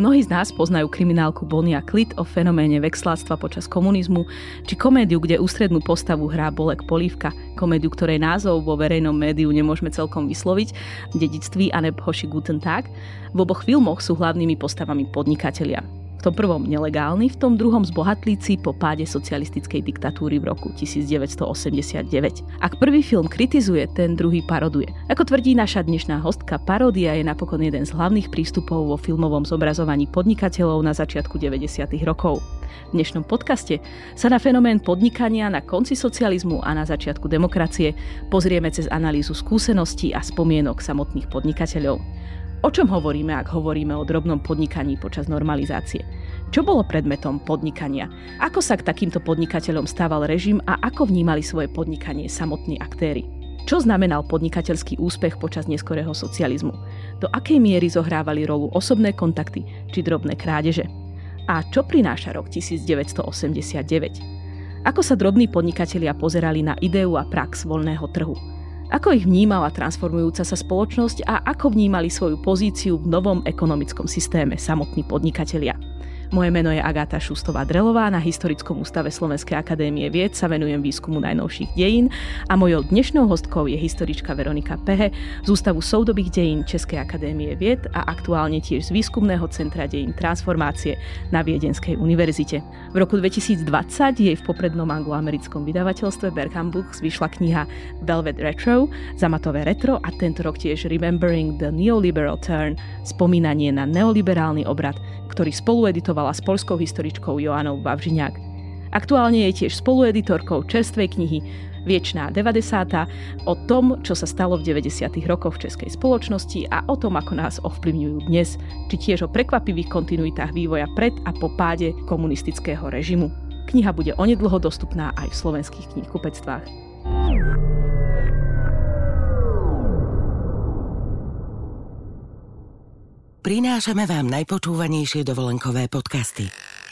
Mnohí z nás poznajú kriminálku Bonnie a Clyde o fenoméne veksláctva počas komunizmu, či komédiu, kde ústrednú postavu hrá Bolek Polívka, komédiu, ktorej názov vo verejnom médiu nemôžeme celkom vysloviť, Dedictví a Hoši Guten Tag. V oboch filmoch sú hlavnými postavami podnikatelia. V tom prvom nelegálny, v tom druhom zbohatlíci po páde socialistickej diktatúry v roku 1989. Ak prvý film kritizuje, ten druhý paroduje. Ako tvrdí naša dnešná hostka, paródia je napokon jeden z hlavných prístupov vo filmovom zobrazovaní podnikateľov na začiatku 90. rokov. V dnešnom podcaste sa na fenomén podnikania na konci socializmu a na začiatku demokracie pozrieme cez analýzu skúseností a spomienok samotných podnikateľov. O čom hovoríme, ak hovoríme o drobnom podnikaní počas normalizácie? Čo bolo predmetom podnikania? Ako sa k takýmto podnikateľom stával režim a ako vnímali svoje podnikanie samotní aktéri? Čo znamenal podnikateľský úspech počas neskorého socializmu? Do akej miery zohrávali rolu osobné kontakty či drobné krádeže? A čo prináša rok 1989? Ako sa drobní podnikatelia pozerali na ideu a prax voľného trhu? Ako ich vnímala transformujúca sa spoločnosť a ako vnímali svoju pozíciu v novom ekonomickom systéme samotní podnikatelia? Moje meno je Agáta Šustová-Drelová, na Historickom ústave Slovenskej akadémie vied sa venujem výskumu najnovších dejín a mojou dnešnou hostkou je historička Veronika Pehe z Ústavu soudobých dejín Českej akadémie vied a aktuálne tiež z Výskumného centra dejín transformácie na Viedenskej univerzite. V roku 2020 jej v poprednom angloamerickom vydavateľstve Bergham Books vyšla kniha Velvet Retro, zamatové retro, a tento rok tiež Remembering the Neoliberal Turn, spomínanie na neoliberálny obrad, ktorý spolueditovala s poľskou historičkou Joannou Wawrzyniak. Aktuálne je tiež spolueditorkou čerstvej knihy Viečná 90. o tom, čo sa stalo v 90. rokoch v českej spoločnosti a o tom, ako nás ovplyvňujú dnes, či tiež o prekvapivých kontinuitách vývoja pred a po páde komunistického režimu. Kniha bude onedlho dostupná aj v slovenských knihkupectvách. Prinášame vám najpočúvanejšie dovolenkové podcasty.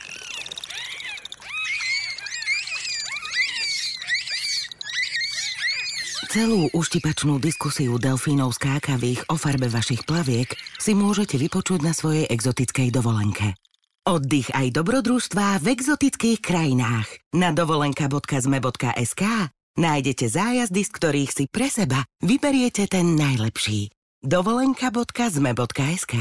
Celú uštipačnú diskusiu delfínov skákavých o farbe vašich plaviek si môžete vypočuť na svojej exotickej dovolenke. Oddych aj dobrodružstvá v exotických krajinách. Na dovolenka.zme.sk nájdete zájazdy, z ktorých si pre seba vyberiete ten najlepší. dovolenka.zme.sk.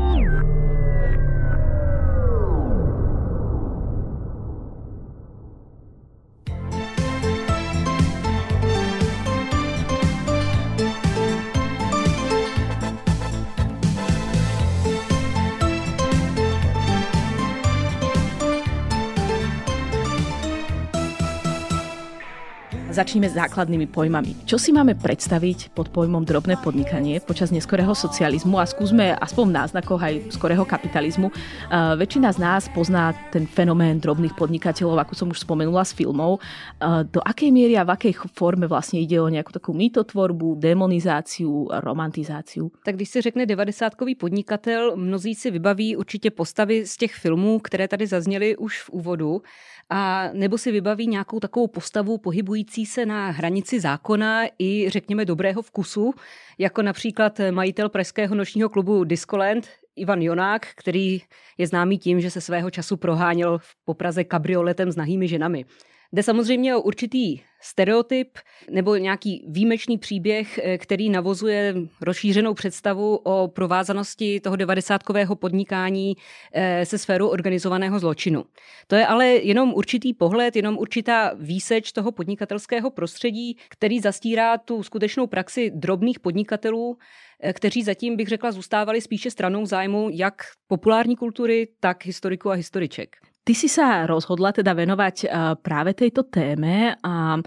Začneme s základnými pojmami. Čo si máme predstaviť pod pojmom drobné podnikanie počas neskorého socializmu a skúsme aspoň v náznakoch aj skorého kapitalizmu. Väčšina z nás pozná ten fenomén drobných podnikateľov, ako som už spomenula z filmov. Do akej miery a v akej forme vlastne ide o nejakú takú mýtotvorbu, demonizáciu, romantizáciu? Tak když se řekne 90kový podnikatel, mnozí si vybaví určitě postavy z těch filmů, které tady zazněly už v úvodu. A nebo si vybaví nějakou takovou postavu pohybující se na hranici zákona i řekněme dobrého vkusu, jako například majitel pražského nočního klubu Discoland Ivan Jonák, který je známý tím, že se svého času proháněl po Praze kabrioletem s nahými ženami. Jde samozřejmě o určitý stereotyp nebo nějaký výjimečný příběh, který navozuje rozšířenou představu o provázanosti toho 90kového podnikání se sférou organizovaného zločinu. To je ale jenom určitý pohled, jenom určitá výseč toho podnikatelského prostředí, který zastírá tu skutečnou praxi drobných podnikatelů, kteří zatím, bych řekla, zůstávali spíše stranou zájmu jak populární kultury, tak historiků a historiček. Ty si sa rozhodla teda venovať práve tejto téme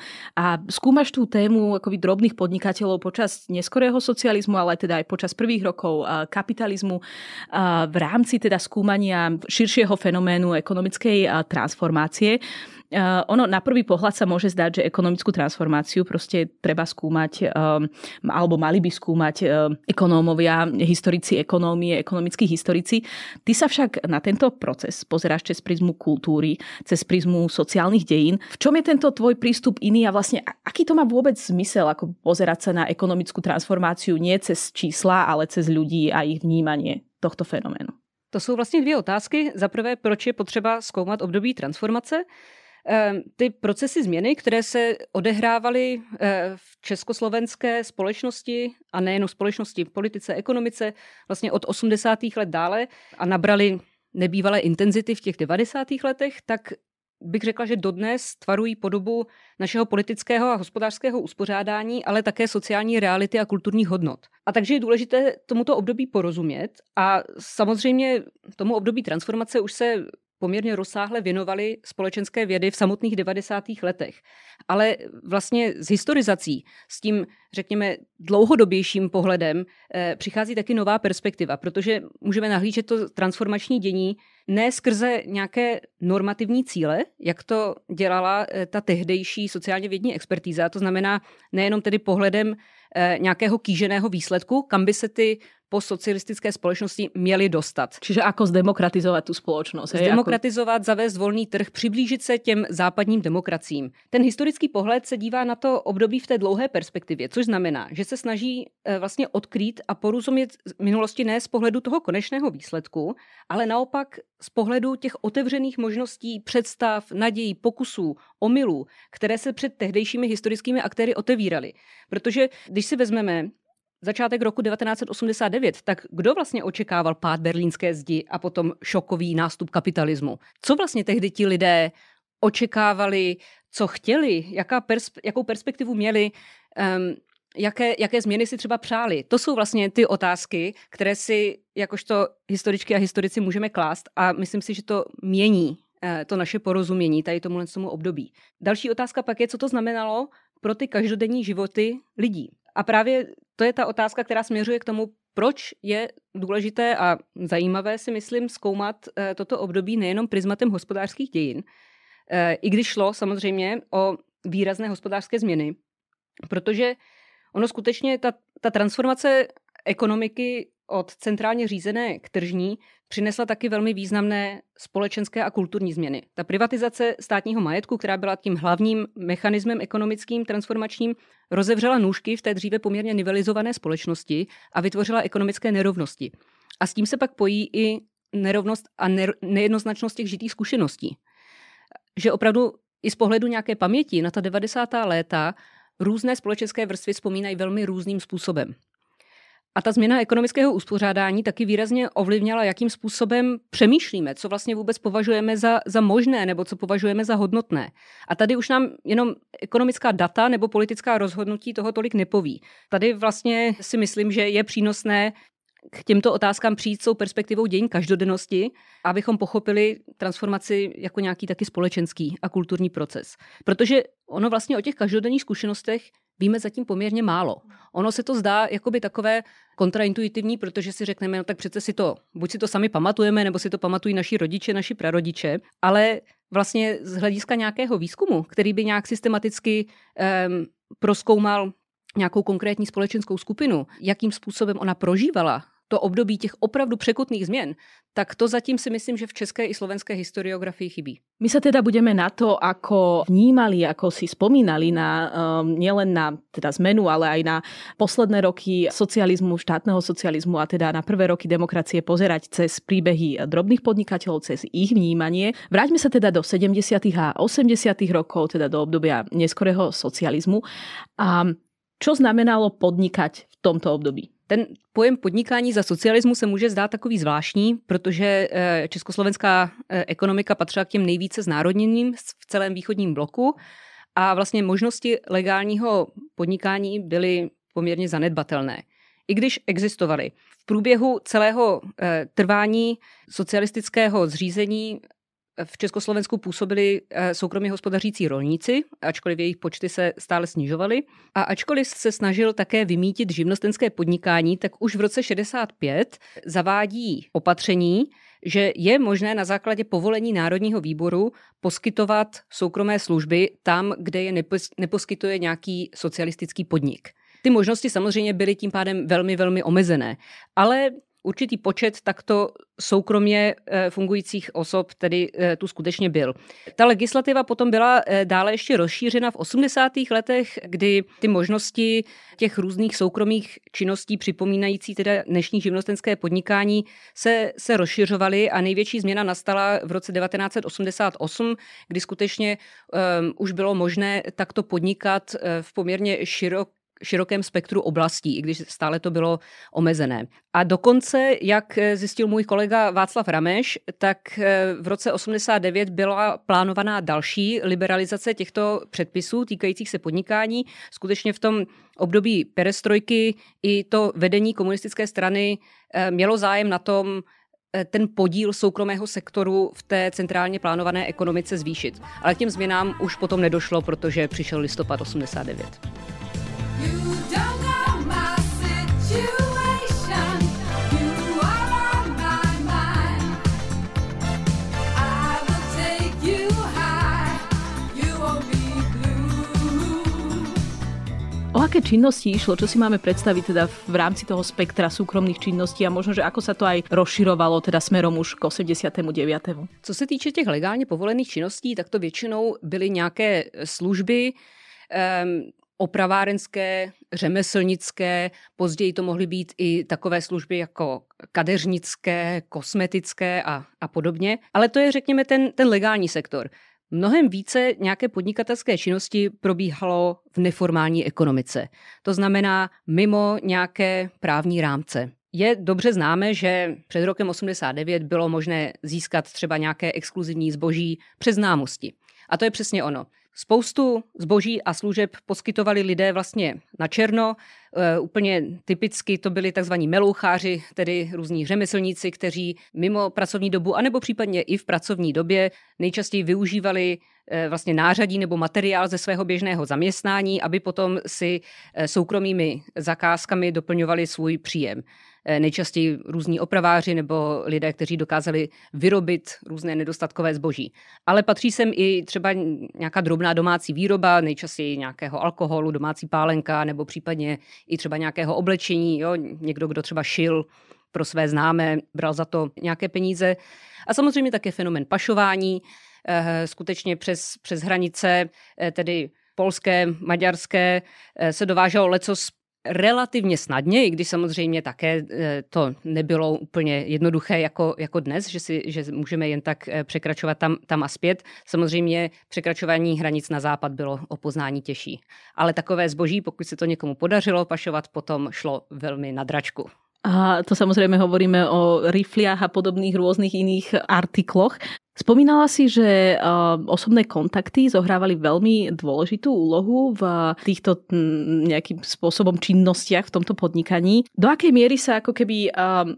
a skúmaš tú tému akoby drobných podnikateľov počas neskorého socializmu, ale teda aj počas prvých rokov kapitalizmu v rámci teda skúmania širšieho fenoménu ekonomickej transformácie. Ono na prvý pohľad sa môže zdať, že ekonomickú transformáciu proste treba skúmať, alebo mali by skúmať ekonómovia, historici ekonómie, ekonomickí historici. Ty sa však na tento proces pozeráš cez prizmu kultúry, cez prizmu sociálnych dejín. V čom je tento tvoj prístup iný a vlastne aký to má vôbec zmysel, ako pozerať sa na ekonomickú transformáciu nie cez čísla, ale cez ľudí a ich vnímanie tohto fenoménu? To jsou vlastně dvě otázky. Za prvé, proč je potřeba zkoumat období transformace? Ty procesy změny, které se odehrávaly v československé společnosti a nejen v společnosti, v politice, ekonomice, vlastně od 80. let dále a nabrali nebývalé intenzity v těch 90. letech, tak bych řekla, že dodnes tvarují podobu našeho politického a hospodářského uspořádání, ale také sociální reality a kulturních hodnot. A takže je důležité tomuto období porozumět a samozřejmě tomu období transformace už se poměrně rozsáhle věnovaly společenské vědy v samotných 90. letech. Ale vlastně s historizací, s tím, řekněme, dlouhodobějším pohledem přichází taky nová perspektiva, protože můžeme nahlížet to transformační dění ne skrze nějaké normativní cíle, jak to dělala ta tehdejší sociálně vědní expertíza, to znamená nejenom tedy pohledem nějakého kýženého výsledku, kam by se ty postsocialistické společnosti měly dostat. Čiže ako zdemokratizovat tu společnost? Zdemokratizovat, zavést volný trh, přiblížit se těm západním demokraciím. Ten historický pohled se dívá na to období v té dlouhé perspektivě, což znamená, že se snaží vlastně odkrýt a porozumět minulosti ne z pohledu toho konečného výsledku, ale naopak z pohledu těch otevřených možností, představ, nadějí, pokusů, omylů, které se před tehdejšími historickými aktéry otevíraly. Protože když si vezmeme začátek roku 1989, tak kdo vlastně očekával pád berlínské zdi a potom šokový nástup kapitalismu? Co vlastně tehdy ti lidé očekávali, co chtěli, jakou perspektivu měli, jaké změny si třeba přáli? To jsou vlastně ty otázky, které si jakožto historičky a historici můžeme klást a myslím si, že to mění to naše porozumění tady tomu období. Další otázka pak je, co to znamenalo pro ty každodenní životy lidí. A právě to je ta otázka, která směřuje k tomu, proč je důležité a zajímavé, si myslím, zkoumat toto období nejenom prismatem hospodářských dějin, i když šlo samozřejmě o výrazné hospodářské změny, protože ono skutečně ta transformace ekonomiky od centrálně řízené k tržní přinesla taky velmi významné společenské a kulturní změny. Ta privatizace státního majetku, která byla tím hlavním mechanismem ekonomickým transformačním, rozevřela nůžky v té dříve poměrně nivelizované společnosti a vytvořila ekonomické nerovnosti. A s tím se pak pojí i nerovnost a nejednoznačnost těch žitých zkušeností. Že opravdu i z pohledu nějaké paměti na ta 90. léta různé společenské vrstvy vzpomínají velmi různým způsobem. A ta změna ekonomického uspořádání taky výrazně ovlivnila, jakým způsobem přemýšlíme, co vlastně vůbec považujeme za možné nebo co považujeme za hodnotné. A tady už nám jenom ekonomická data nebo politická rozhodnutí toho tolik nepoví. Tady vlastně si myslím, že je přínosné k těmto otázkám přijít s tou perspektivou dějin každodennosti, abychom pochopili transformaci jako nějaký taky společenský a kulturní proces. Protože ono vlastně o těch každodenních zkušenostech víme zatím poměrně málo. Ono se to zdá jakoby takové kontraintuitivní, protože si řekneme, no tak přece buď si to sami pamatujeme, nebo si to pamatují naši rodiče, naši prarodiče, ale vlastně z hlediska nějakého výzkumu, který by nějak systematicky prozkoumal nějakou konkrétní společenskou skupinu, jakým způsobem ona prožívala to období těch opravdu překotných změn, tak to zatím si myslím, že v české i slovenské historiografii chybí. My sa teda budeme na to, ako vnímali, ako si spomínali na nielen na teda zmenu, ale aj na posledné roky socializmu, štátneho socializmu a teda na prvé roky demokracie pozerať cez príbehy drobných podnikateľov, cez ich vnímanie. Vráťme sa teda do 70. a 80. rokov, teda do obdobia neskorého socializmu. A čo znamenalo podnikať v tomto období? Ten pojem podnikání za socialismu se může zdát takový zvláštní, protože československá ekonomika patřila k těm nejvíce znárodněným v celém východním bloku a vlastně možnosti legálního podnikání byly poměrně zanedbatelné. I když existovaly. V průběhu celého trvání socialistického zřízení v Československu působili soukromě hospodařící rolníci, ačkoliv jejich počty se stále snižovaly. A ačkoliv se snažil také vymýtit živnostenské podnikání, tak už v roce 65 zavádí opatření, že je možné na základě povolení Národního výboru poskytovat soukromé služby tam, kde je neposkytuje nějaký socialistický podnik. Ty možnosti samozřejmě byly tím pádem velmi, velmi omezené. Ale určitý počet takto soukromě fungujících osob tedy tu skutečně byl. Ta legislativa potom byla dále ještě rozšířena v 80. letech, kdy ty možnosti těch různých soukromých činností připomínající teda dnešní živnostenské podnikání se rozšiřovaly a největší změna nastala v roce 1988, kdy skutečně už bylo možné takto podnikat v poměrně širokém spektru oblastí, i když stále to bylo omezené. A dokonce, jak zjistil můj kolega Václav Rameš, tak v roce 89 byla plánovaná další liberalizace těchto předpisů týkajících se podnikání. Skutečně v tom období perestrojky i to vedení komunistické strany mělo zájem na tom, ten podíl soukromého sektoru v té centrálně plánované ekonomice zvýšit. Ale k těm změnám už potom nedošlo, protože přišel listopad 89. O aké činnosti išlo? Čo si máme predstaviť teda v rámci toho spektra súkromných činností a možno, že ako sa to aj rozširovalo teda smerom už k 89. Co se týče těch legálně povolených činností, tak to většinou byly nějaké služby, opravárenské, řemeslnické, později to mohly být i takové služby jako kadeřnické, kosmetické a podobně. Ale to je, řekněme, ten legální sektor. Mnohem více nějaké podnikatelské činnosti probíhalo v neformální ekonomice. To znamená mimo nějaké právní rámce. Je dobře známe, že před rokem 89 bylo možné získat třeba nějaké exkluzivní zboží přes známosti. A to je přesně ono. Spoustu zboží a služeb poskytovali lidé vlastně na černo. Úplně typicky to byli takzvaní meloucháři, tedy různí řemeslníci, kteří mimo pracovní dobu, anebo případně i v pracovní době nejčastěji využívali vlastně nářadí nebo materiál ze svého běžného zaměstnání, aby potom si soukromými zakázkami doplňovali svůj příjem. Nejčastěji různí opraváři nebo lidé, kteří dokázali vyrobit různé nedostatkové zboží. Ale patří sem i třeba nějaká drobná domácí výroba, nejčastěji nějakého alkoholu, domácí pálenka nebo případně i třeba nějakého oblečení. Jo? Někdo, kdo třeba šil pro své známé, bral za to nějaké peníze. A samozřejmě také fenomén pašování, skutečně přes hranice, tedy polské, maďarské, se dováželo lecos relativně snadně, i když samozřejmě také to nebylo úplně jednoduché jako dnes, že můžeme jen tak překračovat tam a zpět. Samozřejmě překračování hranic na západ bylo o poznání těžší. Ale takové zboží, pokud se to někomu podařilo pašovat, potom šlo velmi na dračku. A to samozrejme hovoríme o rifliach a podobných rôznych iných artikloch. Spomínala si, že osobné kontakty zohrávali veľmi dôležitú úlohu v týchto nejakým spôsobom činnostiach v tomto podnikaní. Do akej miery sa ako keby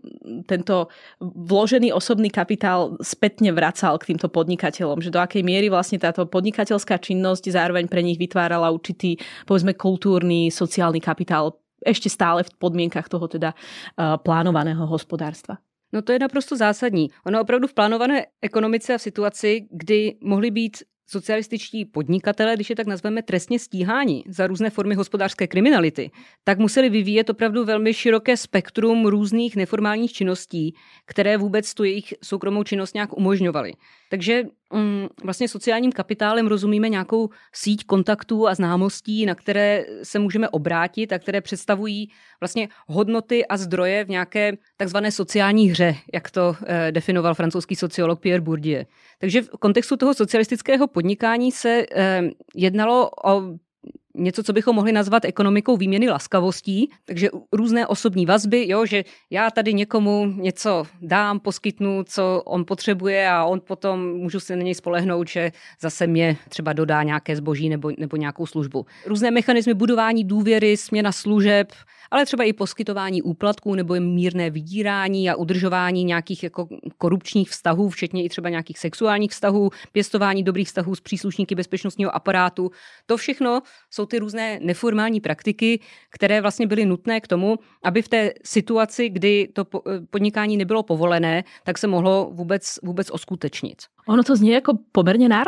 tento vložený osobný kapitál spätne vracal k týmto podnikateľom? Že do akej miery vlastne táto podnikateľská činnosť zároveň pre nich vytvárala určitý, povedzme, kultúrny, sociálny kapitál ešte stále v podmienkach toho teda plánovaného hospodárstva? No to je naprosto zásadní. Ono opravdu v plánované ekonomice a v situaci, kdy mohli být socialističtí podnikatelé, když je tak nazveme, trestně stíháni za různé formy hospodářské kriminality, tak museli vyvíjet opravdu velmi široké spektrum různých neformálních činností, které vůbec tu jejich soukromou činnost nějak umožňovaly. Takže vlastně sociálním kapitálem rozumíme nějakou síť kontaktů a známostí, na které se můžeme obrátit a které představují vlastně hodnoty a zdroje v nějaké takzvané sociální hře, jak to definoval francouzský sociolog Pierre Bourdieu. Takže v kontextu toho socialistického podnikání se jednalo o něco, co bychom mohli nazvat ekonomikou výměny laskavostí, takže různé osobní vazby, jo, že já tady někomu něco dám, poskytnu, co on potřebuje a on potom můžu se na něj spolehnout, že zase mě třeba dodá nějaké zboží nebo nějakou službu. Různé mechanismy budování důvěry, směna služeb, ale třeba i poskytování úplatků nebo mírné vydírání a udržování nějakých jako korupčních vztahů, včetně i třeba nějakých sexuálních vztahů, pěstování dobrých vztahů s příslušníky bezpečnostního aparátu. To všechno jsou ty různé neformální praktiky, které vlastně byly nutné k tomu, aby v té situaci, kdy to podnikání nebylo povolené, tak se mohlo vůbec uskutečnit. Ono to znie jako pomerne náročne.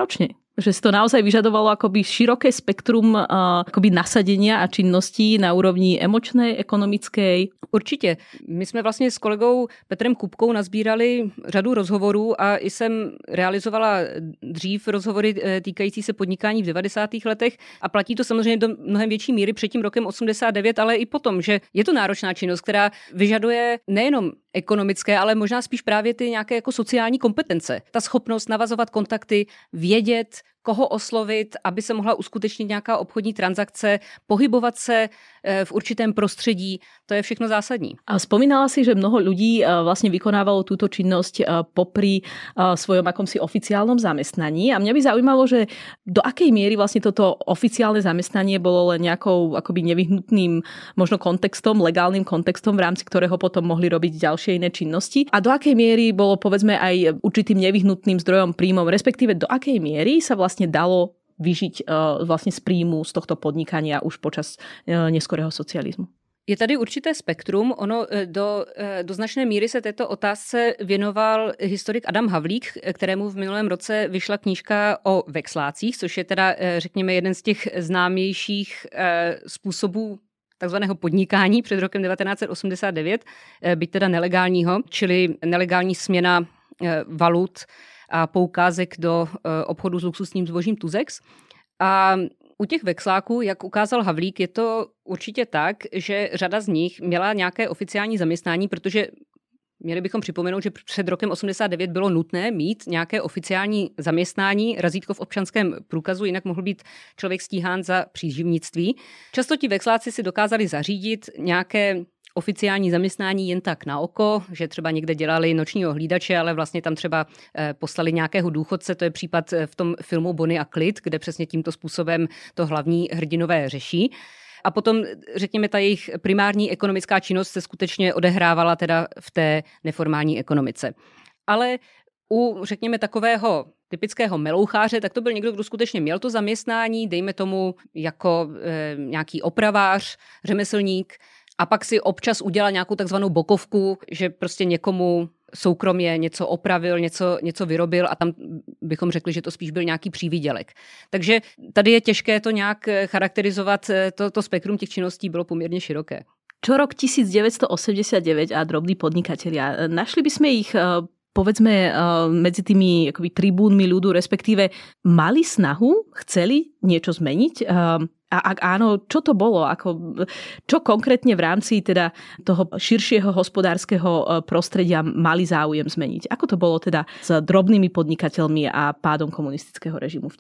Že si to naozaj vyžadovalo akoby široké spektrum akoby nasadenia a činností na úrovni emočnej, ekonomickej. Určitě. My jsme vlastně s kolegou Petrem Kupkou nazbírali řadu rozhovorů a i jsem realizovala dřív rozhovory týkající se podnikání v 90. letech a platí to samozřejmě do mnohem větší míry před tím rokem 89, ale i potom, že je to náročná činnost, která vyžaduje nejenom ekonomické, ale možná spíš právě ty nějaké jako sociální kompetence. Ta schopnost navazovat kontakty, vědět, koho oslovit, aby se mohla uskutečnit nějaká obchodní transakce, pohybovat se v určitém prostředí, to je všechno zásadní. A spomínala si, že mnoho ľudí vlastne vykonávalo túto činnosť popri svojom akomsi oficiálnom zamestnaní a mňa by zaujímalo, že do akej miery vlastne toto oficiálne zamestnanie bolo len nejakou akoby nevyhnutným možno kontextom, legálnym kontextom, v rámci ktorého potom mohli robiť ďalšie iné činnosti a do akej miery bolo povedzme aj určitým nevyhnutným zdrojom príjmov, respektíve do akej miery sa vlastne dalo vyžiť vlastne z príjmu z tohto podnikania už počas neskorého socializmu. Je tady určité spektrum. Ono do značné míry se této otázce věnoval historik Adam Havlík, kterému v minulém roce vyšla knížka o vexlácích, což je teda, řekněme, jeden z těch známějších způsobů takzvaného podnikání před rokem 1989, byť teda nelegálního, čili nelegální směna valut a poukázek do obchodu s luxusním zbožím Tuzex. A u těch vexláků, jak ukázal Havlík, je to určitě tak, že řada z nich měla nějaké oficiální zaměstnání, protože měli bychom připomenout, že před rokem 89 bylo nutné mít nějaké oficiální zaměstnání, razítko v občanském průkazu, jinak mohl být člověk stíhán za příživnictví. Často ti vexláci si dokázali zařídit nějaké oficiální zaměstnání jen tak na oko, že třeba někde dělali nočního hlídače, ale vlastně tam třeba poslali nějakého důchodce, to je případ v tom filmu Bonnie a Clyde, kde přesně tímto způsobem to hlavní hrdinové řeší. A potom, řekněme, ta jejich primární ekonomická činnost se skutečně odehrávala teda v té neformální ekonomice. Ale řekněme, takového typického meloucháře, tak to byl někdo, kdo skutečně měl to zaměstnání, dejme tomu jako nějaký opravář, řemeslník, a pak si občas udělal nějakou takzvanou bokovku, že prostě někomu soukromě něco opravil, něco vyrobil a tam bychom řekli, že to spíš byl nějaký přívydělek. Takže tady je těžké to nějak charakterizovat, to spektrum těch činností bylo poměrně široké. Čo rok 1989 a drobní podnikatelia, našli by sme ich povedzme medzi tými akoby tribúnmi ľudu, respektíve mali snahu, chceli niečo zmeniť? A ak áno, čo to bolo? Čo konkrétne v rámci teda toho širšieho hospodárskeho prostredia mali záujem zmeniť? Ako to bolo teda s drobnými podnikateľmi a pádom komunistického režimu v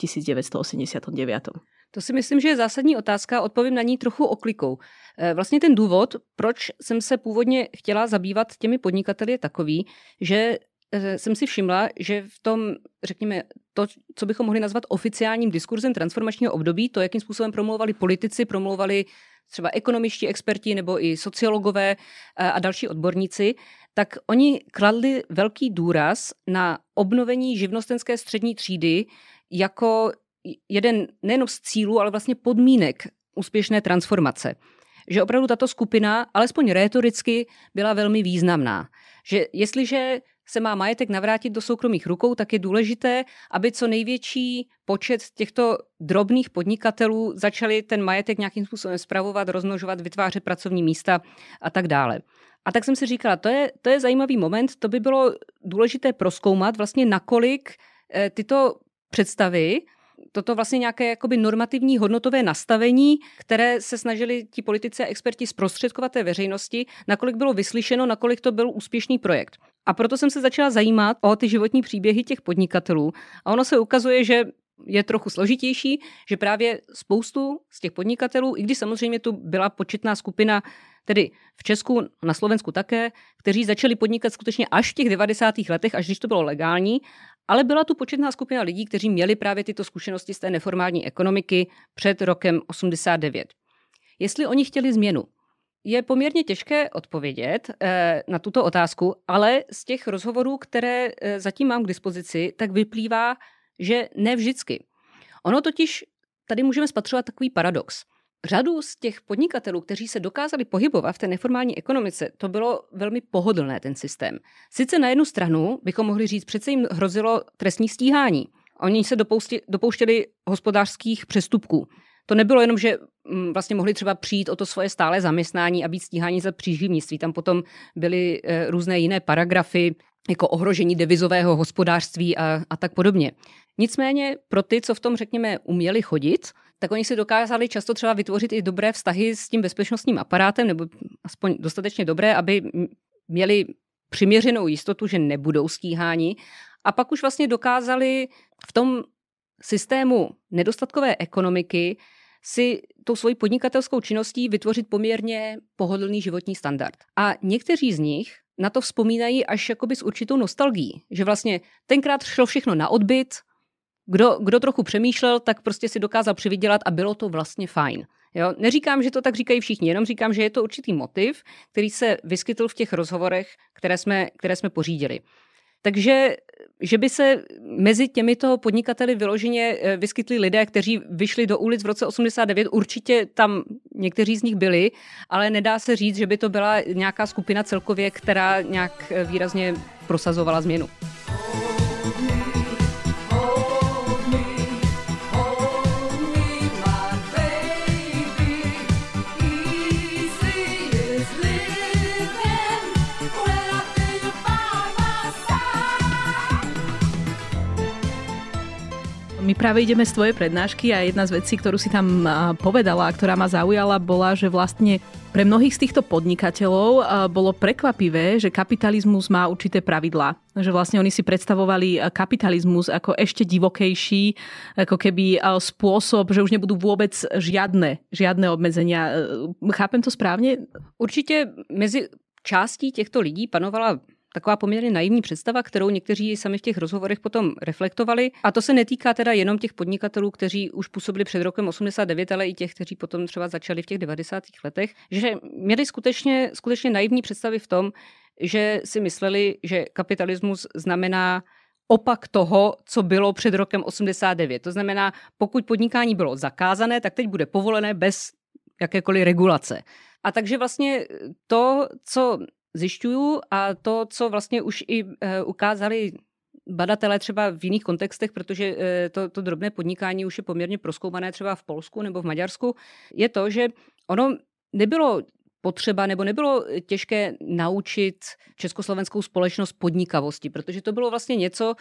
1989? To si myslím, že je zásadní otázka, odpovím na ní trochu oklikou. Vlastně ten důvod, proč jsem se původně chtěla zabývat těmi podnikateli, je takový, že jsem si všimla, že v tom, řekněme, to, co bychom mohli nazvat oficiálním diskurzem transformačního období, to, jakým způsobem promlouvali politici, promlouvali třeba ekonomičtí experti nebo i sociologové a další odborníci, tak oni kladli velký důraz na obnovení živnostenské střední třídy jako jeden nejen z cílů, ale vlastně podmínek úspěšné transformace. Že opravdu tato skupina, alespoň rétoricky, byla velmi významná. Že jestliže se má majetek navrátit do soukromých rukou, tak je důležité, aby co největší počet těchto drobných podnikatelů začali ten majetek nějakým způsobem spravovat, rozmnožovat, vytvářet pracovní místa a tak dále. A tak jsem si říkala, to je zajímavý moment, to by bylo důležité prozkoumat vlastně nakolik tyto představy, toto vlastně nějaké jakoby normativní hodnotové nastavení, které se snažili ti politici a experti zprostředkovat té veřejnosti, nakolik bylo vyslyšeno, nakolik to byl úspěšný projekt. A proto jsem se začala zajímat o ty životní příběhy těch podnikatelů a ono se ukazuje, že je trochu složitější, že právě spoustu z těch podnikatelů, i když samozřejmě tu byla početná skupina, tedy v Česku, na Slovensku také, kteří začali podnikat skutečně až v těch 90. letech, až když to bylo legální, ale byla tu početná skupina lidí, kteří měli právě tyto zkušenosti z té neformální ekonomiky před rokem 89. Jestli oni chtěli změnu, je poměrně těžké odpovědět na tuto otázku, ale z těch rozhovorů, které zatím mám k dispozici, tak vyplývá, že ne vždycky. Ono totiž, tady můžeme spatřovat takový paradox. Řadu z těch podnikatelů, kteří se dokázali pohybovat v té neformální ekonomice, to bylo velmi pohodlné ten systém. Sice na jednu stranu bychom mohli říct, přece jim hrozilo trestní stíhání. Oni se dopouštěli hospodářských přestupků. To nebylo jenom, že vlastně mohli třeba přijít o to svoje stále zaměstnání a být stíháni za příživnictví. Tam potom byly různé jiné paragrafy, jako ohrožení devizového hospodářství a tak podobně. Nicméně pro ty, co v tom, řekněme, uměli chodit, tak oni si dokázali často třeba vytvořit i dobré vztahy s tím bezpečnostním aparátem, nebo aspoň dostatečně dobré, aby měli přiměřenou jistotu, že nebudou stíháni. A pak už vlastně dokázali v tom systému nedostatkové ekonomiky si tou svojí podnikatelskou činností vytvořit poměrně pohodlný životní standard. A někteří z nich na to vzpomínají až jakoby s určitou nostalgií, že vlastně tenkrát šlo všechno na odbyt, kdo trochu přemýšlel, tak prostě si dokázal přivydělat a bylo to vlastně fajn. Jo? Neříkám, že to tak říkají všichni, jenom říkám, že je to určitý motiv, který se vyskytl v těch rozhovorech, které jsme pořídili. Takže, že by se mezi těmito podnikateli vyloženě vyskytli lidé, kteří vyšli do ulic v roce 89, určitě tam někteří z nich byli, ale nedá se říct, že by to byla nějaká skupina celkově, která nějak výrazně prosazovala změnu. My práve ideme z tvojej prednášky a jedna z vecí, ktorú si tam povedala a ktorá ma zaujala, bola, že vlastne pre mnohých z týchto podnikateľov bolo prekvapivé, že kapitalizmus má určité pravidlá. Že vlastne oni si predstavovali kapitalizmus ako ešte divokejší, ako keby spôsob, že už nebudú vôbec žiadne obmedzenia. Chápem to správne? Určite mezi částí těchto lidí panovala taková poměrně naivní představa, kterou někteří sami v těch rozhovorech potom reflektovali. A to se netýká teda jenom těch podnikatelů, kteří už působili před rokem 89, ale i těch, kteří potom třeba začali v těch 90. letech, že měli skutečně naivní představy v tom, že si mysleli, že kapitalismus znamená opak toho, co bylo před rokem 89. To znamená, pokud podnikání bylo zakázané, tak teď bude povolené bez jakékoliv regulace. A takže vlastně to, co zjišťuju a to, co vlastně už i ukázali badatelé třeba v jiných kontextech, protože to drobné podnikání už je poměrně prozkoumané třeba v Polsku nebo v Maďarsku, je to, že ono nebylo potřeba nebo nebylo těžké naučit československou společnost podnikavosti, protože to bylo vlastně něco,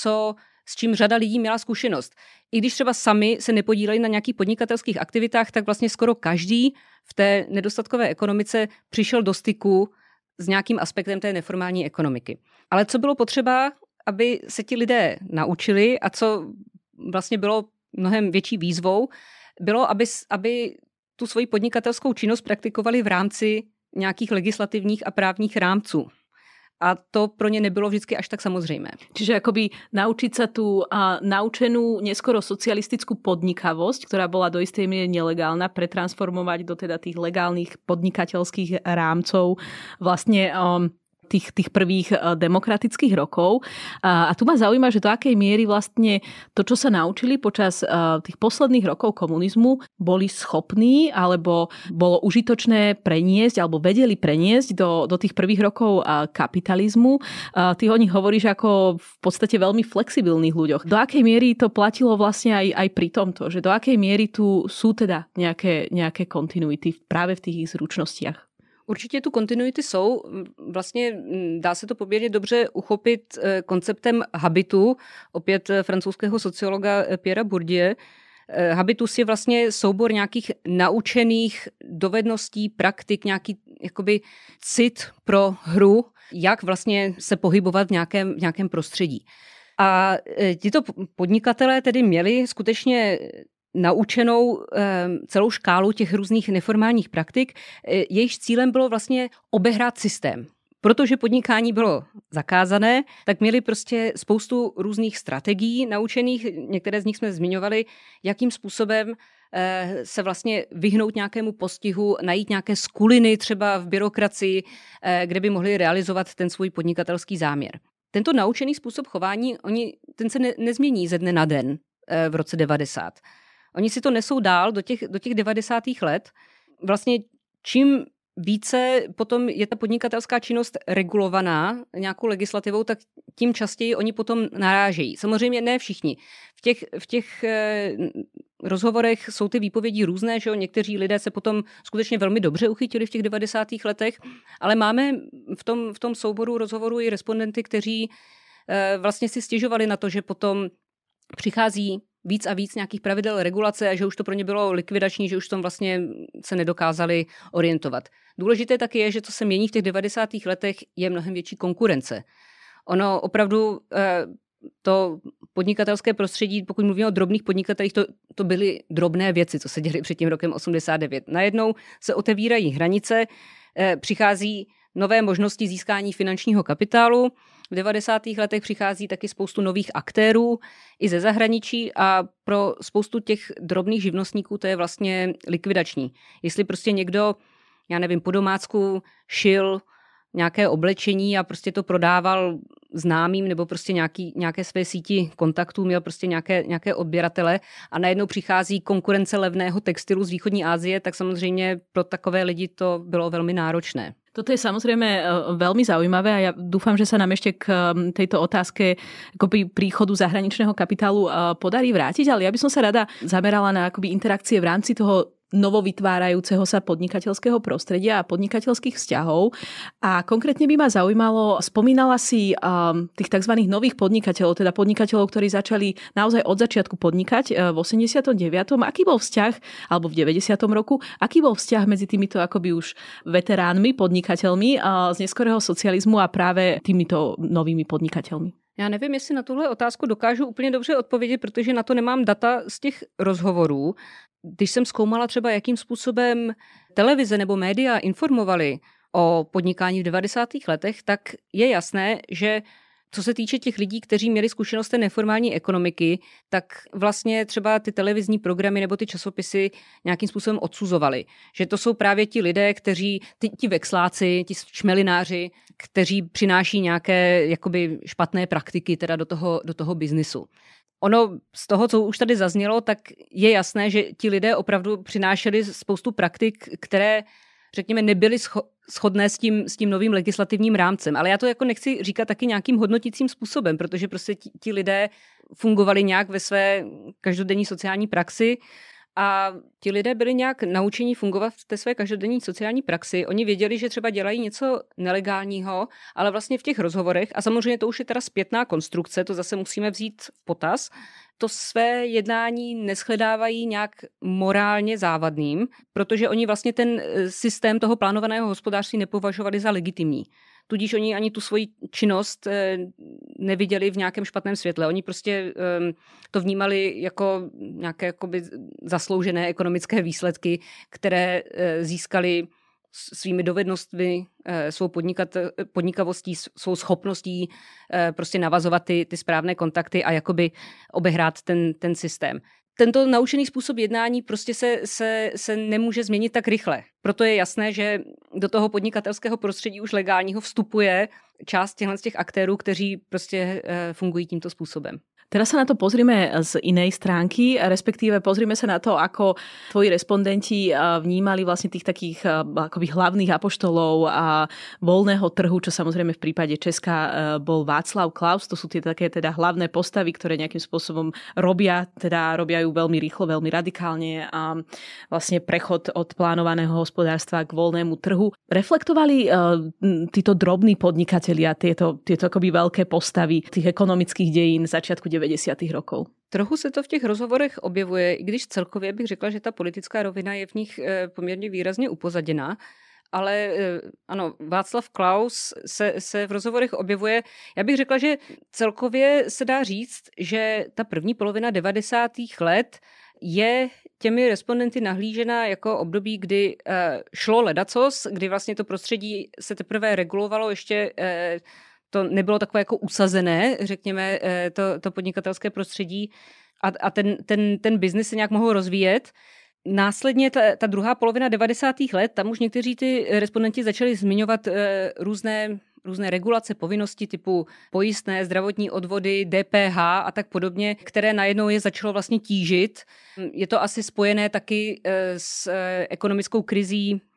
s čím řada lidí měla zkušenost. I když třeba sami se nepodíleli na nějakých podnikatelských aktivitách, tak vlastně skoro každý v té nedostatkové ekonomice přišel do styku s nějakým aspektem té neformální ekonomiky. Ale co bylo potřeba, aby se ti lidé naučili a co vlastně bylo mnohem větší výzvou, bylo, aby tu svoji podnikatelskou činnost praktikovali v rámci nějakých legislativních a právních rámců. A to pro ně nebylo vždycky až tak samozřejmé. Čiže akoby naučiť sa tú naučenú neskoro socialistickú podnikavosť, ktorá bola do istej miery nelegálna, pretransformovať do teda tých legálnych podnikateľských rámcov vlastne tých prvých demokratických rokov. A tu ma zaujíma, že do akej miery vlastne to, čo sa naučili počas tých posledných rokov komunizmu, boli schopní alebo bolo užitočné preniesť alebo vedeli preniesť do tých prvých rokov kapitalizmu. Ty o nich hovoríš ako v podstate veľmi flexibilných ľuďoch. Do akej miery to platilo vlastne aj pri tomto? Že do akej miery tu sú teda nejaké kontinuity práve v tých ich zručnostiach? Určitě tu kontinuity jsou. Vlastně dá se to poměrně dobře uchopit konceptem habitu, opět francouzského sociologa Pierra Bourdieu. Habitus je vlastně soubor nějakých naučených dovedností, praktik, nějaký jakoby cit pro hru, jak vlastně se pohybovat v nějakém prostředí. A tito podnikatelé tedy měli skutečně naučenou celou škálu těch různých neformálních praktik. Jejichž cílem bylo vlastně obehrát systém. Protože podnikání bylo zakázané, tak měli prostě spoustu různých strategií naučených, některé z nich jsme zmiňovali, jakým způsobem se vlastně vyhnout nějakému postihu, najít nějaké skuliny třeba v byrokracii, kde by mohli realizovat ten svůj podnikatelský záměr. Tento naučený způsob chování, ten se nezmění ze dne na den v roce 90. Oni si to nesou dál do těch 90. let. Vlastně čím více potom je ta podnikatelská činnost regulovaná nějakou legislativou, tak tím častěji oni potom narážejí. Samozřejmě ne všichni. V těch rozhovorech jsou ty výpovědi různé, že jo? Někteří lidé se potom skutečně velmi dobře uchytili v těch 90. letech, ale máme v tom souboru rozhovorů i respondenty, kteří vlastně si stěžovali na to, že potom přichází víc a víc nějakých pravidel regulace a že už to pro ně bylo likvidační, že už v tom vlastně se nedokázali orientovat. Důležité taky je, že co se mění v těch 90. letech, je mnohem větší konkurence. Ono opravdu to podnikatelské prostředí, pokud mluvíme o drobných podnikatelích, to byly drobné věci, co se děly před tím rokem 89. Najednou se otevírají hranice, přichází nové možnosti získání finančního kapitálu. V 90. letech přichází taky spoustu nových aktérů i ze zahraničí a pro spoustu těch drobných živnostníků to je vlastně likvidační. Jestli prostě někdo, já nevím, po domácku šil nějaké oblečení a prostě to prodával známým nebo prostě nějaké své síti kontaktů, měl prostě nějaké odběratele a najednou přichází konkurence levného textilu z východní Asie, tak samozřejmě pro takové lidi to bylo velmi náročné. Toto je samozrejme veľmi zaujímavé a ja dúfam, že sa nám ešte k tejto otázke akoby príchodu zahraničného kapitálu podarí vrátiť, ale ja by som sa rada zamerala na akoby interakcie v rámci toho novovytvárajúceho sa podnikateľského prostredia a podnikateľských vzťahov. A konkrétne by ma zaujímalo, spomínala si tých tzv. Nových podnikateľov, teda podnikateľov, ktorí začali naozaj od začiatku podnikať v 89. Aký bol vzťah, alebo v 90. roku, aký bol vzťah medzi týmito akoby už veteránmi, podnikateľmi z neskorého socializmu a práve týmito novými podnikateľmi? Já nevím, jestli na tuhle otázku dokážu úplně dobře odpovědět, protože na to nemám data z těch rozhovorů. Když jsem zkoumala třeba, jakým způsobem televize nebo média informovali o podnikání v 90. letech, tak je jasné, že co se týče těch lidí, kteří měli zkušenost té neformální ekonomiky, tak vlastně třeba ty televizní programy nebo ty časopisy nějakým způsobem odsuzovali. Že to jsou právě ti lidé, kteří, ti vexláci, ti šmelináři, kteří přináší nějaké jakoby špatné praktiky teda do toho biznisu. Ono z toho, co už tady zaznělo, tak je jasné, že ti lidé opravdu přinášeli spoustu praktik, které, řekněme, nebyly shodné s tím novým legislativním rámcem. Ale já to jako nechci říkat taky nějakým hodnotícím způsobem, protože prostě ti lidé fungovali nějak ve své každodenní sociální praxi a ti lidé byli nějak naučení fungovat v té své každodenní sociální praxi. Oni věděli, že třeba dělají něco nelegálního, ale vlastně v těch rozhovorech, a samozřejmě to už je teda zpětná konstrukce, to zase musíme vzít v potaz, to své jednání neschledávají nějak morálně závadným, protože oni vlastně ten systém toho plánovaného hospodářství nepovažovali za legitimní. Tudíž oni ani tu svoji činnost neviděli v nějakém špatném světle. Oni prostě to vnímali jako nějaké jakoby zasloužené ekonomické výsledky, které získali svými dovednostmi, svou podnikavostí, svou schopností prostě navazovat ty správné kontakty a jakoby obehrát ten systém. Tento naučený způsob jednání prostě se nemůže změnit tak rychle. Proto je jasné, že do toho podnikatelského prostředí už legálního vstupuje část těch aktérů, kteří prostě fungují tímto způsobem. Teraz sa na to pozrime z inej stránky, respektíve pozrime sa na to, ako tvoji respondenti vnímali vlastne tých takých akoby hlavných apoštolov a voľného trhu, čo samozrejme v prípade Česka bol Václav Klaus. To sú tie také teda hlavné postavy, ktoré nejakým spôsobom robia ju veľmi rýchlo, veľmi radikálne a vlastne prechod od plánovaného hospodárstva k voľnému trhu. Reflektovali títo drobní podnikatelia, tieto akoby veľké postavy tých ekonomických dejín začiatku 90. rokov. Trochu se to v těch rozhovorech objevuje, i když celkově bych řekla, že ta politická rovina je v nich poměrně výrazně upozaděná. Ale ano, Václav Klaus se v rozhovorech objevuje. Já bych řekla, že celkově se dá říct, že ta první polovina 90. let je těmi respondenty nahlížena jako období, kdy šlo ledacos, kdy vlastně to prostředí se teprve regulovalo, ještě to nebylo takové jako usazené, řekněme, to podnikatelské prostředí a ten biznis se nějak mohl rozvíjet. Následně ta druhá polovina 90. let, tam už někteří ty respondenti začali zmiňovat různé regulace, povinnosti typu pojistné, zdravotní odvody, DPH a tak podobně, které najednou je začalo vlastně tížit. Je to asi spojené taky s ekonomickou krizí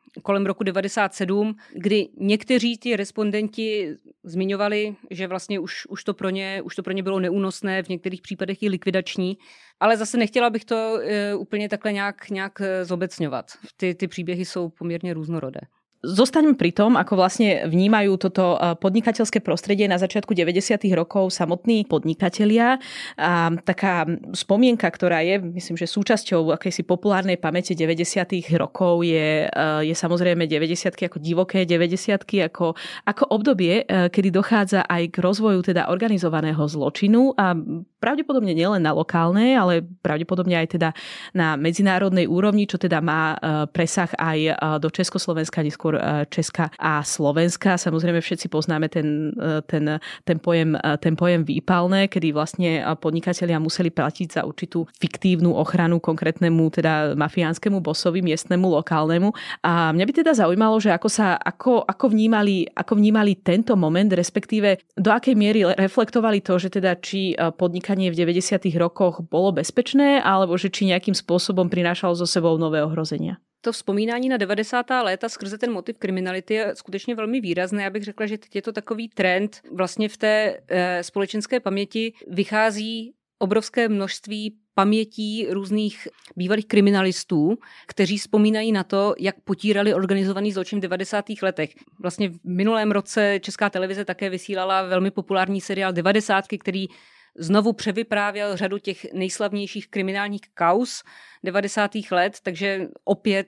kolem roku 97, kdy někteří ti respondenti zmiňovali, že vlastně už to pro ně bylo neúnosné, v některých případech i likvidační, ale zase nechtěla bych to úplně takhle nějak zobecňovat. Ty příběhy jsou poměrně různorodé. Zostaňme pri tom, ako vlastne vnímajú toto podnikateľské prostredie na začiatku 90. rokov samotní podnikatelia. A taká spomienka, ktorá je, myslím, že súčasťou akejsi populárnej pamäte 90. rokov je samozrejme 90-ky ako divoké 90-ky, ako obdobie, kedy dochádza aj k rozvoju teda organizovaného zločinu a pravdepodobne nielen na lokálnej, ale pravdepodobne aj teda na medzinárodnej úrovni, čo teda má presah aj do Československa, neskôr Česka a Slovenska. Samozrejme všetci poznáme ten pojem výpalné, kedy vlastne podnikatelia museli platiť za určitú fiktívnu ochranu konkrétnemu teda mafiánskemu bosovi, miestnemu, lokálnemu. A mňa by teda zaujímalo, že ako vnímali tento moment, respektíve do akej miery reflektovali to, že teda či podnikanie v 90. rokoch bolo bezpečné, alebo že či nejakým spôsobom prinášalo so sebou nové ohrozenia. To vzpomínání na 90. léta skrze ten motiv kriminality je skutečně velmi výrazné. Já bych řekla, že teď je to takový trend. Vlastně v té společenské paměti vychází obrovské množství pamětí různých bývalých kriminalistů, kteří vzpomínají na to, jak potírali organizovaný zločin v 90. letech. Vlastně v minulém roce Česká televize také vysílala velmi populární seriál 90, který znovu převyprávěl řadu těch nejslavnějších kriminálních kauz 90. let, takže opět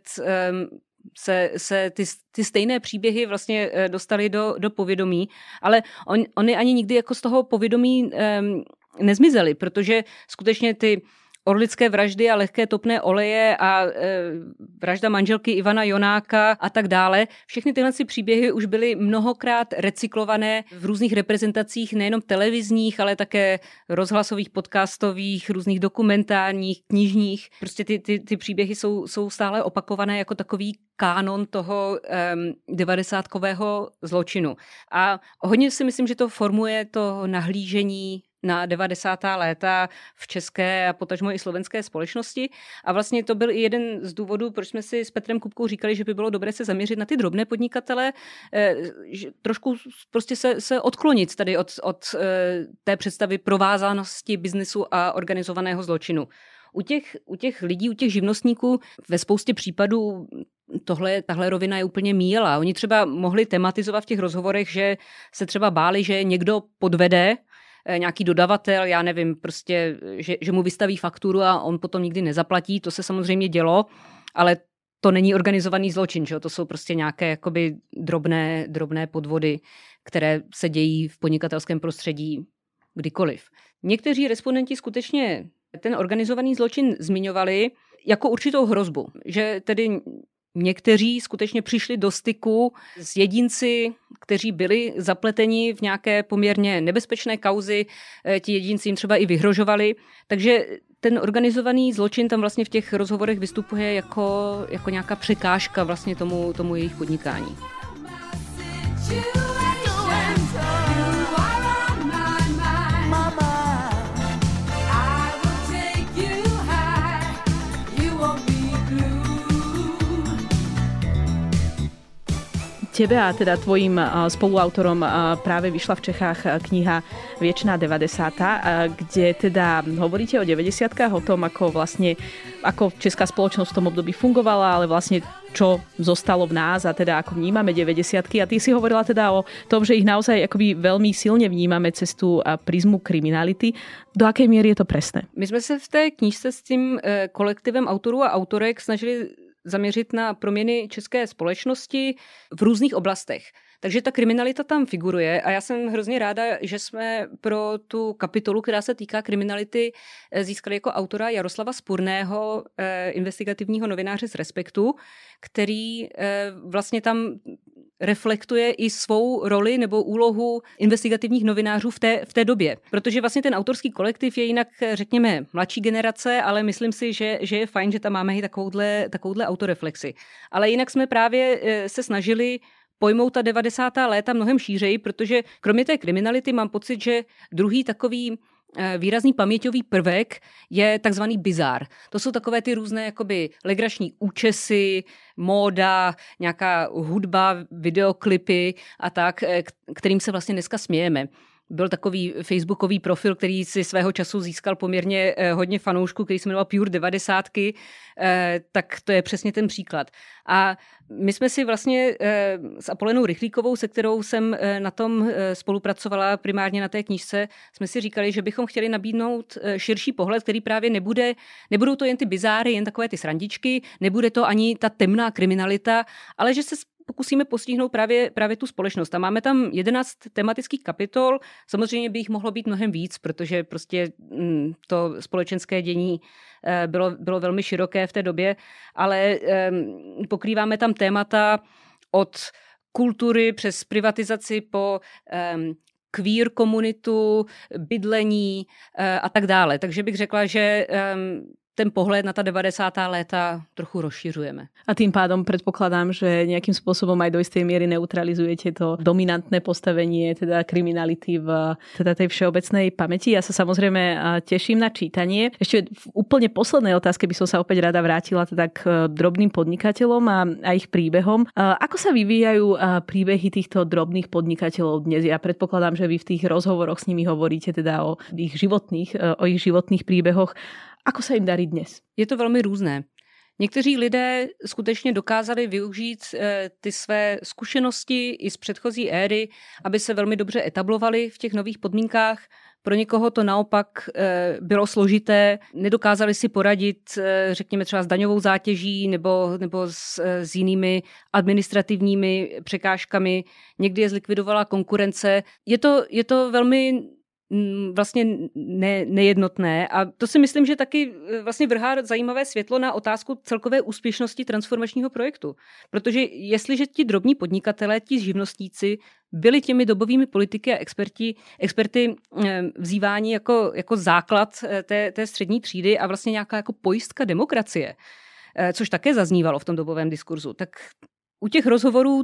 se ty stejné příběhy vlastně dostaly do povědomí, ale oni ani nikdy jako z toho povědomí nezmizely, protože skutečně ty orlické vraždy a lehké topné oleje a vražda manželky Ivana Jonáka a tak dále. Všechny tyhle příběhy už byly mnohokrát recyklované v různých reprezentacích, nejenom televizních, ale také rozhlasových, podcastových, různých dokumentárních, knižních. Prostě ty příběhy jsou stále opakované jako takový kánon toho 90kového zločinu. A hodně si myslím, že to formuje to nahlížení na 90. léta v české a potažmo i slovenské společnosti. A vlastně to byl i jeden z důvodů, proč jsme si s Petrem Kupkou říkali, že by bylo dobré se zaměřit na ty drobné podnikatele, trošku prostě se odklonit tady od té představy provázanosti biznesu a organizovaného zločinu. U těch lidí, u těch živnostníků ve spoustě případů tahle rovina je úplně míjela. Oni třeba mohli tematizovat v těch rozhovorech, že se třeba báli, že někdo podvede, nějaký dodavatel, já nevím, prostě, že mu vystaví fakturu a on potom nikdy nezaplatí. To se samozřejmě dělo, ale to není organizovaný zločin, že? To jsou prostě nějaké jakoby drobné podvody, které se dějí v podnikatelském prostředí kdykoliv. Někteří respondenti skutečně ten organizovaný zločin zmiňovali jako určitou hrozbu, že tedy někteří skutečně přišli do styku s jedinci, kteří byli zapleteni v nějaké poměrně nebezpečné kauzy, ti jedinci jim třeba i vyhrožovali. Takže ten organizovaný zločin tam vlastně v těch rozhovorech vystupuje jako nějaká překážka vlastně tomu jejich podnikání. Tebe a teda tvojim spoluautorom práve vyšla v Čechách kniha Viečná 90, kde teda hovoríte o 90-kách, o tom, ako česká spoločnosť v tom období fungovala, ale vlastne čo zostalo v nás a teda ako vnímame 90-ky. A ty si hovorila teda o tom, že ich naozaj akoby veľmi silne vnímame cez tú prizmu kriminality. Do akej miery je to presné? My sme sa v té knižce s tím kolektivem autorů a autorek snažili zaměřit na proměny české společnosti v různých oblastech. Takže ta kriminalita tam figuruje a já jsem hrozně ráda, že jsme pro tu kapitolu, která se týká kriminality, získali jako autora Jaroslava Spurného, investigativního novináře z Respektu, který vlastně tam reflektuje i svou roli nebo úlohu investigativních novinářů v té době. Protože vlastně ten autorský kolektiv je jinak, řekněme, mladší generace, ale myslím si, že je fajn, že tam máme i takovouhle autoreflexi. Ale jinak jsme právě se snažili pojmout ta 90. léta mnohem šířeji, protože kromě té kriminality mám pocit, že druhý takový výrazný paměťový prvek je takzvaný bizár. To jsou takové ty různé jakoby legrační účesy, móda, nějaká hudba, videoklipy a tak, kterým se vlastně dneska smějeme. Byl takový facebookový profil, který si svého času získal poměrně hodně fanoušků, který se jmenoval Pure 90, tak to je přesně ten příklad. A my jsme si vlastně s Apolenou Rychlíkovou, se kterou jsem na tom spolupracovala primárně na té knížce, jsme si říkali, že bychom chtěli nabídnout širší pohled, který právě nebudou to jen ty bizáry, jen takové ty srandičky, nebude to ani ta temná kriminalita, ale že se pokusíme postihnout právě tu společnost. A máme tam 11 tematických kapitol. Samozřejmě by jich mohlo být mnohem víc, protože prostě to společenské dění bylo velmi široké v té době, ale pokrýváme tam témata od kultury přes privatizaci po queer komunitu, bydlení a tak dále. Takže bych řekla, že ten pohled na ta 90. léta trochu rozšiřujeme. A tým pádom predpokladám, že nejakým spôsobom aj do istej miery neutralizujete to dominantné postavenie teda kriminality v teda tej všeobecnej pamäti. Ja sa samozrejme teším na čítanie. Ešte v úplne poslednej otázke by som sa opäť rada vrátila teda k drobným podnikateľom a ich príbehom. Ako sa vyvíjajú príbehy týchto drobných podnikateľov dnes? Ja predpokladám, že vy v tých rozhovoroch s nimi hovoríte teda o ich životných príbehoch. Ako sa im darí dnes? Je to velmi různé. Někteří lidé skutečně dokázali využít ty své zkušenosti i z předchozí éry, aby se velmi dobře etablovali v těch nových podmínkách. Pro někoho to naopak bylo složité, nedokázali si poradit, řekněme třeba s daňovou zátěží nebo s jinými administrativními překážkami. Někdy je zlikvidovala konkurence. Je to velmi vlastně nejednotné a to si myslím, že taky vlastně vrhá zajímavé světlo na otázku celkové úspěšnosti transformačního projektu. Protože jestliže ti drobní podnikatelé, ti živnostníci byli těmi dobovými politiky a experty vzýváni jako základ té střední třídy a vlastně nějaká jako pojistka demokracie, což také zaznívalo v tom dobovém diskurzu, tak u těch rozhovorů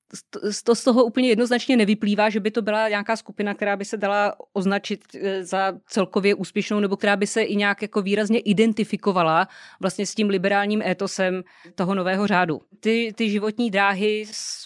z toho úplně jednoznačně nevyplývá, že by to byla nějaká skupina, která by se dala označit za celkově úspěšnou nebo která by se i nějak jako výrazně identifikovala vlastně s tím liberálním étosem toho nového řádu. Ty životní dráhy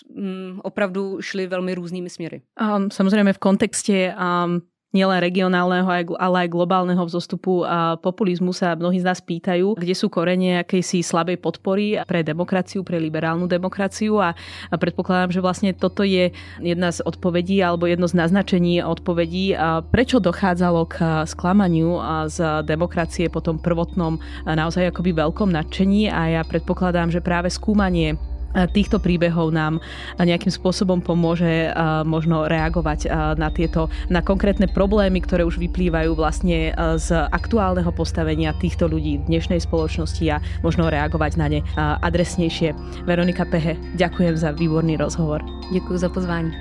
opravdu šly velmi různými směry. Samozrejme v kontexte nielen regionálneho, ale aj globálneho vzostupu a populizmu sa mnohí z nás pýtajú, kde sú korene akejsi slabej podpory pre demokraciu, pre liberálnu demokraciu a predpokladám, že vlastne toto je jedna z odpovedí alebo jedno z naznačení odpovedí, prečo dochádzalo k sklamaniu z demokracie po tom prvotnom naozaj akoby veľkom nadšení a ja predpokladám, že práve skúmanie týchto príbehov nám nejakým spôsobom pomôže možno reagovať na konkrétne problémy, ktoré už vyplývajú vlastne z aktuálneho postavenia týchto ľudí v dnešnej spoločnosti a možno reagovať na ne adresnejšie. Veronika Pehe, ďakujem za výborný rozhovor. Ďakujem za pozvání.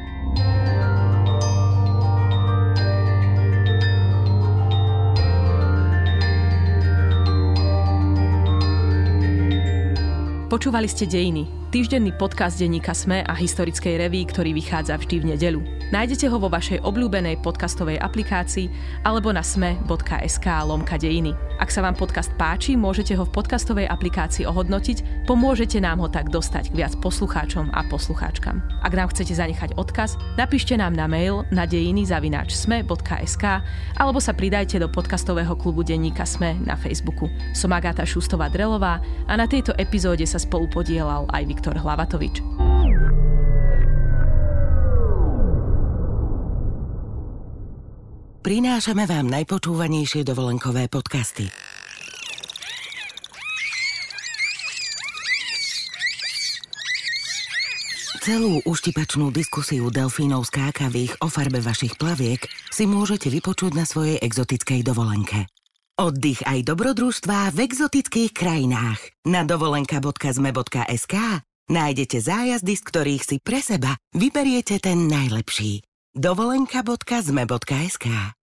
Počúvali ste Dejiny, týždenný podcast denníka SME a historickej reví, ktorý vychádza vždy v nedeľu. Nájdete ho vo vašej obľúbenej podcastovej aplikácii alebo na sme.sk/dejiny. Ak sa vám podcast páči, môžete ho v podcastovej aplikácii ohodnotiť, pomôžete nám ho tak dostať k viac poslucháčom a poslucháčkam. Ak nám chcete zanechať odkaz, napíšte nám na mail na dejiny@sme.sk alebo sa pridajte do podcastového klubu denníka SME na Facebooku. Som Agáta Šustová-Drelová a na tejto epizóde sa spolupodielal aj Viktor Hlavatovič. Prinášame vám najpočúvanejšie dovolenkové podcasty. Celú uštipačnú diskusiu delfínov skákavých o farbe vašich plaviek si môžete vypočuť na svojej exotickej dovolenke. Oddych aj dobrodružstvá v exotických krajinách. Na dovolenka.zme.sk nájdete zájazdy, z ktorých si pre seba vyberiete ten najlepší. dovolenka.zme.sk